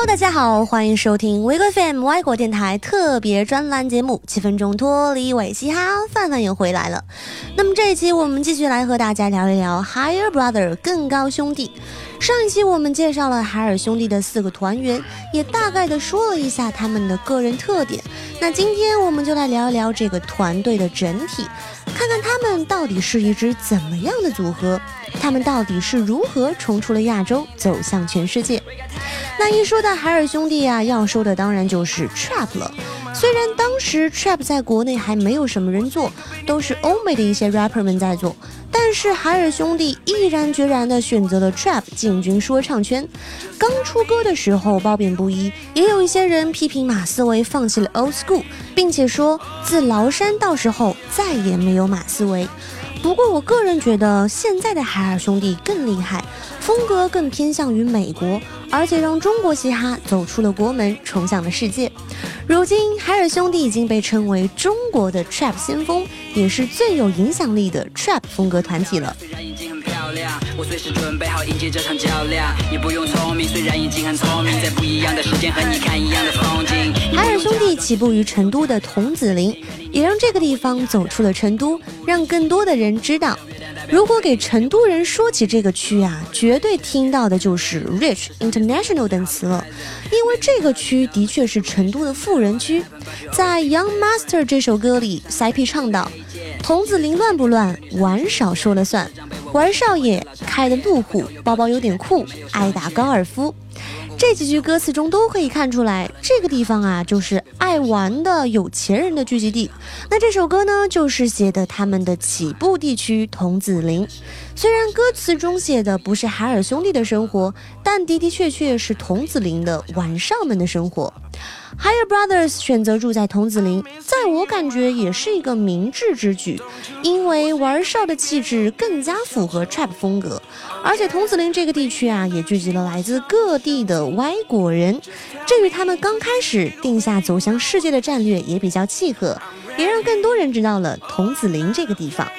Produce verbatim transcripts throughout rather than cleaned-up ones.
Hello， 大家好，欢迎收听维格 F M 外国电台特别专栏节目，七分钟脱离伪嘻哈，范范又回来了。那么这一期我们继续来和大家聊一聊 Higher Brother 更高兄弟。上一期我们介绍了海尔兄弟的四个团员，也大概的说了一下他们的个人特点。那今天我们就来聊一聊这个团队的整体，看看他们到底是一支怎么样的组合，他们到底是如何冲出了亚洲走向全世界。那一说到海尔兄弟啊，要说的当然就是 Trap 了。虽然当时 Trap 在国内还没有什么人做，都是欧美的一些 rapper 们在做，但是海尔兄弟毅然决然地选择了 Trap 进军说唱圈。刚出歌的时候褒贬不一，也有一些人批评马思唯放弃了 Old School， 并且说自崂山到时候再也没有马思唯。不过我个人觉得现在的海尔兄弟更厉害，风格更偏向于美国，而且让中国嘻哈走出了国门，冲向了世界。如今海尔兄弟已经被称为中国的 Trap 先锋，也是最有影响力的 Trap 风格团体了。 我随时准备好迎接这场较量，你不用聪明，虽然已经很聪明，在不一样的时间和你看一样的风景。 海尔兄弟起步于成都的桐梓林，也让这个地方走出了成都，让更多的人知道。如果给成都人说起这个区啊，绝对听到的就是 Rich、International 等词了，因为这个区的确是成都的富人区。在 Young Master 这首歌里 C P 唱道，桐梓林乱不乱，玩少说了算，玩少爷开的路虎，包包有点酷，爱打高尔夫。这几句歌词中都可以看出来，这个地方啊就是爱玩的有钱人的聚集地。那这首歌呢，就是写的他们的起步地区桐梓林。虽然歌词中写的不是海尔兄弟的生活，但的的确确是桐梓林的玩少们的生活。Higher Brothers 选择住在桐梓林，在我感觉也是一个明智之举，因为玩少的气质更加符合 Trap 风格，而且桐梓林这个地区啊，也聚集了来自各地的外国人，这与他们刚开始定下走向世界的战略也比较契合，也让更多人知道了桐梓林这个地方。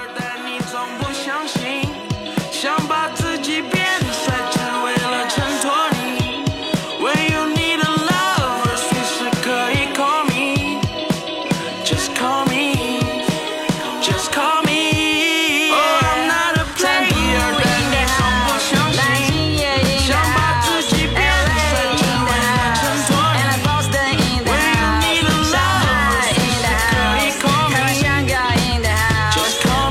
想把自己变帅，只为了衬托你。When you need a lover， 随时可以 call me， Just call me， Just call me。Oh I'm not a player， 但你总不相信。想把自己变帅，只为了衬托你。When you need a lover， 随时可以 call me，Just call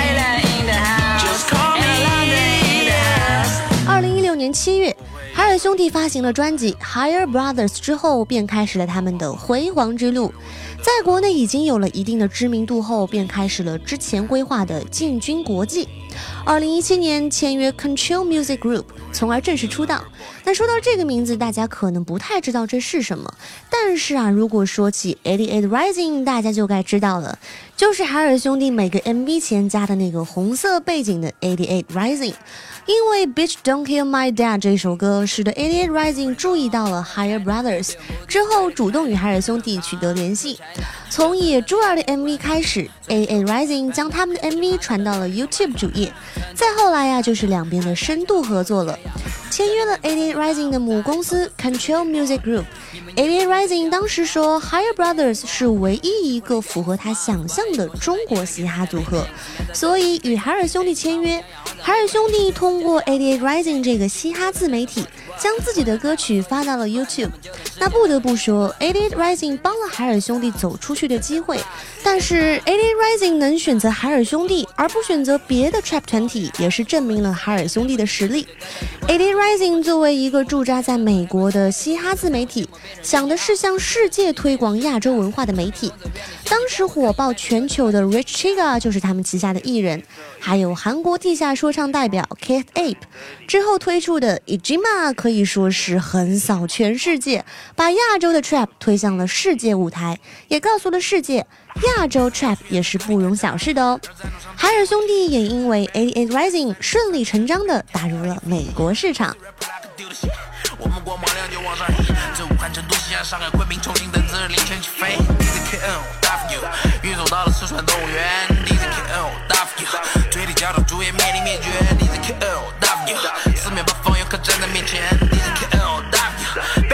me，Just call me。 二零一六年七月，海尔兄弟发行了专辑 Higher Brothers 之后，便开始了他们的辉煌之路。在国内已经有了一定的知名度后，便开始了之前规划的进军国际。二零一七年签约 Control Music Group， 从而正式出道。那说到这个名字，大家可能不太知道这是什么，但是啊，如果说起八十八 Rising， 大家就该知道了，就是海尔兄弟每个 M V 前加的那个红色背景的八十八 Rising。因为 Bitch Don't Kill My Dad 这首歌使得八十八 Rising 注意到了 Higher Brothers， 之后主动与海尔兄弟取得联系。从野猪儿的 M V 开始， 八十八 Rising 将他们的 M V 传到了 YouTube 主页，再后来啊就是两边的深度合作了，签约了八十八 Rising 的母公司 Control Music Group。 八十八 Rising 当时说 Higher Brothers 是唯一一个符合他想象的中国嘻哈组合，所以与海尔兄弟签约。海尔兄弟通过八十八 Rising 这个嘻哈自媒体将自己的歌曲发到了 YouTube。 那不得不说八十八 Rising 帮了海尔兄弟走出去的机会，但是八十八 Rising 能选择海尔兄弟而不选择别的 Trap 团体，也是证明了海尔兄弟的实力。八十八 Rising 作为一个驻扎在美国的嘻哈自媒体，想的是向世界推广亚洲文化的媒体。当时火爆全球的 Rich Chiga 就是他们旗下的艺人，还有韩国地下说唱代表 Keith Ape， 之后推出的 Ijima 可以说是横扫全世界，把亚洲的 Trap 推向了世界舞台，也告诉了世界亚洲 Trap 也是不容小视的哦。海尔兄弟也因为八十八 Rising 顺理成章地打入了美国市场。 我们光芒亮就往上飞，这武汉、成都、西安、上海、昆明、重庆等自领先起飞。D Z K N 大 for you， 运走到了四川动物园。D Z K N 大 for you， 嘴里嚼着猪也面临灭绝。D Z K N 大 for you， 四面八方游客站在面前。D Z K N 大 for you。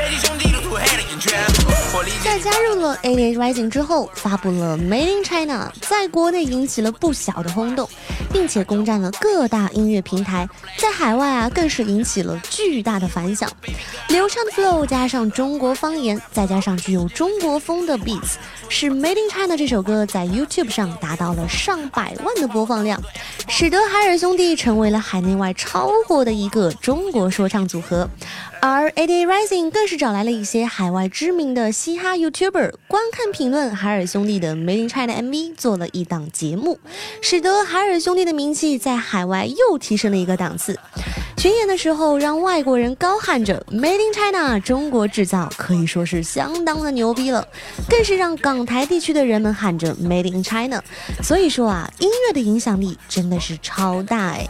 在加入了 A D A Rising 之后，发布了 Made in China， 在国内引起了不小的轰动，并且攻占了各大音乐平台，在海外啊更是引起了巨大的反响。流畅的 flow 加上中国方言，再加上具有中国风的 beats， 使 Made in China 这首歌在 YouTube 上达到了上百万的播放量，使得海尔兄弟成为了海内外超火的一个中国说唱组合。而 A D A Rising 更是找来了一些海外知名的嘻哈 YouTuber 观看评论海尔兄弟的 Made in China M V， 做了一档节目，使得海尔兄弟的名气在海外又提升了一个档次。巡演的时候，让外国人高喊着 Made in China 中国制造，可以说是相当的牛逼了，更是让港台地区的人们喊着 Made in China。 所以说啊，音乐的影响力真的是超大哎。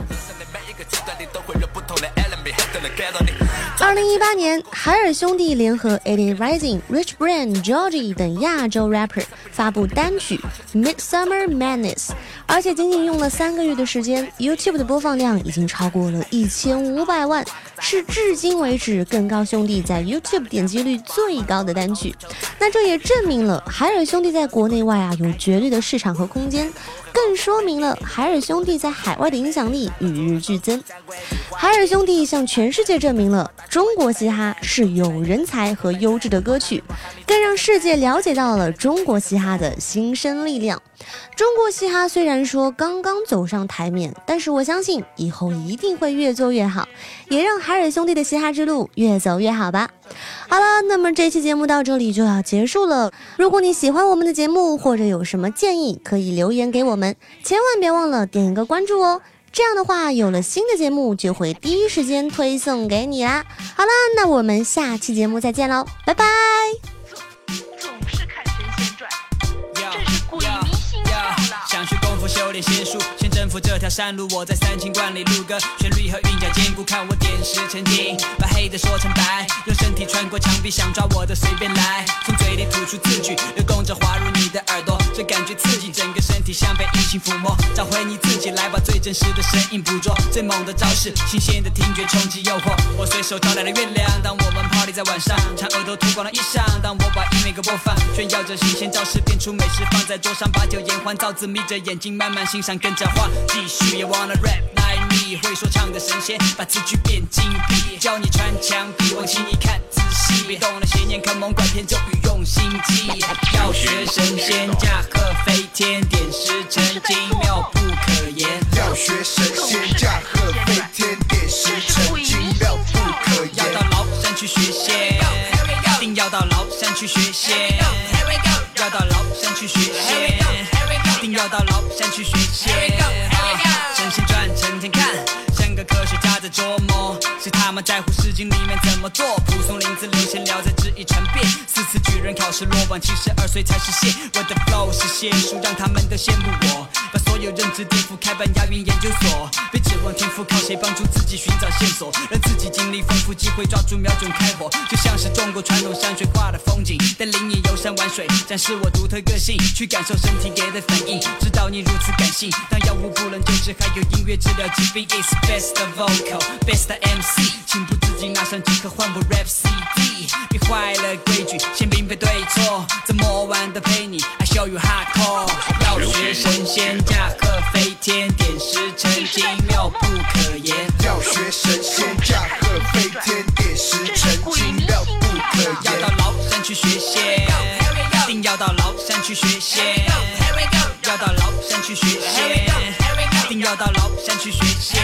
二零一八年，海尔兄弟联合 A D A Rising、Rich Brian、Georgie 等亚洲 rapper 发布单曲 Midsummer Madness， 而且仅仅用了三个月的时间 ，YouTube 的播放量已经超过了一千五百万，是至今为止更高兄弟在 YouTube 点击率最高的单曲。那这也证明了海尔兄弟在国内外啊有绝对的市场和空间，更说明了海尔兄弟在海外的影响力与日俱增。海尔兄弟向全世界证明了中国嘻哈是有人才和优质的歌曲，更让世界了解到了中国嘻哈的新生力量。中国嘻哈虽然说刚刚走上台面，但是我相信以后一定会越做越好，也让海尔兄弟的嘻哈之路越走越好吧。好了，那么这期节目到这里就要结束了。如果你喜欢我们的节目，或者有什么建议，可以留言给我们，千万别忘了点一个关注哦。这样的话，有了新的节目就会第一时间推送给你啦。好了，那我们下期节目再见喽，拜拜。 总是看神仙传，真是鬼迷心窍了。 想学功夫修炼仙术，先征服这条山路。我在三清观里录歌，旋律和韵脚兼顾，看我点石成金，把黑的说成白，用身体穿过墙壁，想抓我的随便来，从嘴里吐出字句，流动着滑入你的耳朵，这感觉刺激，整个身体像被异性抚摸，找回你自己，来把最真实的声音捕捉，最猛的招式，新鲜的听觉冲击诱惑。我随手招来了月亮，当我们 party 在晚上，长额头脱光了衣裳，当我把音乐给播放，炫耀着新鲜招式，变出美食放在桌上，把酒言欢，造字眯着眼睛慢慢欣赏，跟着画，继续也 wanna rap like me， 会说唱的神仙，把字句变精辟，教你穿墙壁，往心里看仔细，别动了邪念，看猛拐骗咒语用心记，要学神仙驾鹤飞天，点石成金，妙不可言。 要学神仙驾鹤飞天，点石成金，妙不可言。 要到崂山去学仙，定要到崂山去学仙，要到崂山去学仙，定要到崂山去学仙。神仙传成天看，像个科学家在琢磨，谁他妈在乎诗经里面怎么做？蒲松龄自流闲聊在质疑传遍，四次举人考试落榜，七十二岁才实现。我的 flow 是仙术，让他们都羡慕我，把所有认知颠覆，开办押韵研究所。别指望天赋，靠谁帮助自己寻找线索？让自己经历丰富，机会抓住，瞄准开火，就像是中国传统山水画的风景，带领你游山玩水，展示我独特个性，去感受身体给的反应，知道你如此感性。当药物不能救治，还有音乐治疗疾病。It's best of vocal, best of M C， 情不自禁拿上即刻换部 rap C D， 别坏了规矩，先并非对错，怎么玩的陪你 I show you hardcore。 要学神仙驾鹤飞天，点石成金，妙不可言。 要学神仙驾鹤飞天，点石成金，妙不可言。 要到崂山去学仙，定要到崂山去学仙，要到崂山去学仙，定要到崂山去学仙。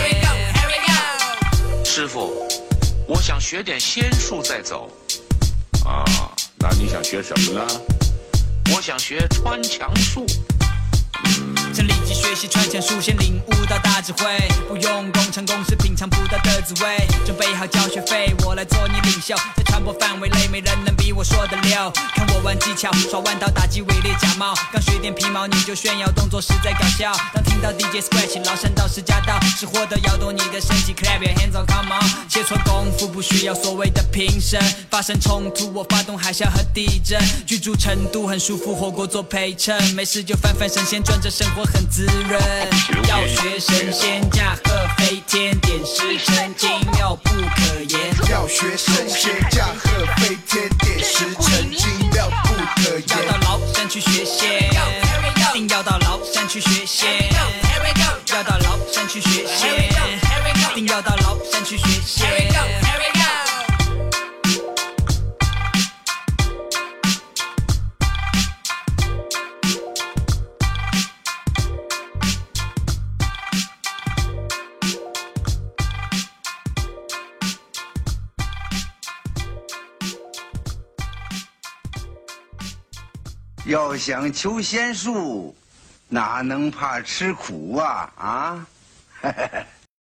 师傅，我想学点仙术再走。 啊，那你想学什么呢？ 我想学穿墙术。 想立即学习穿墙术，先领悟到大智慧，不用功成公式，品尝不到的滋味。准备好交学费，我来做你领袖，在传播范围内，没人能比我说的溜。看我玩技巧，耍弯刀打击伪劣假冒，刚学点皮毛你就炫耀，动作实在搞笑。当听到 D J scratch， 崂山道士驾到，是获得摇动你的身体 ，clap your hands on come on。切磋功夫不需要所谓的评审，发生冲突我发动海啸和地震，居住成都很舒服，火锅做陪衬，没事就翻翻神仙传，这生活很滋润。要学神仙驾鹤飞天，点石成金，妙不可言。 要学神仙驾鹤飞天，点石成金，妙去学仙，要到崂山去学仙，一定要到崂山去学仙。 要想求仙术，哪能怕吃苦啊啊！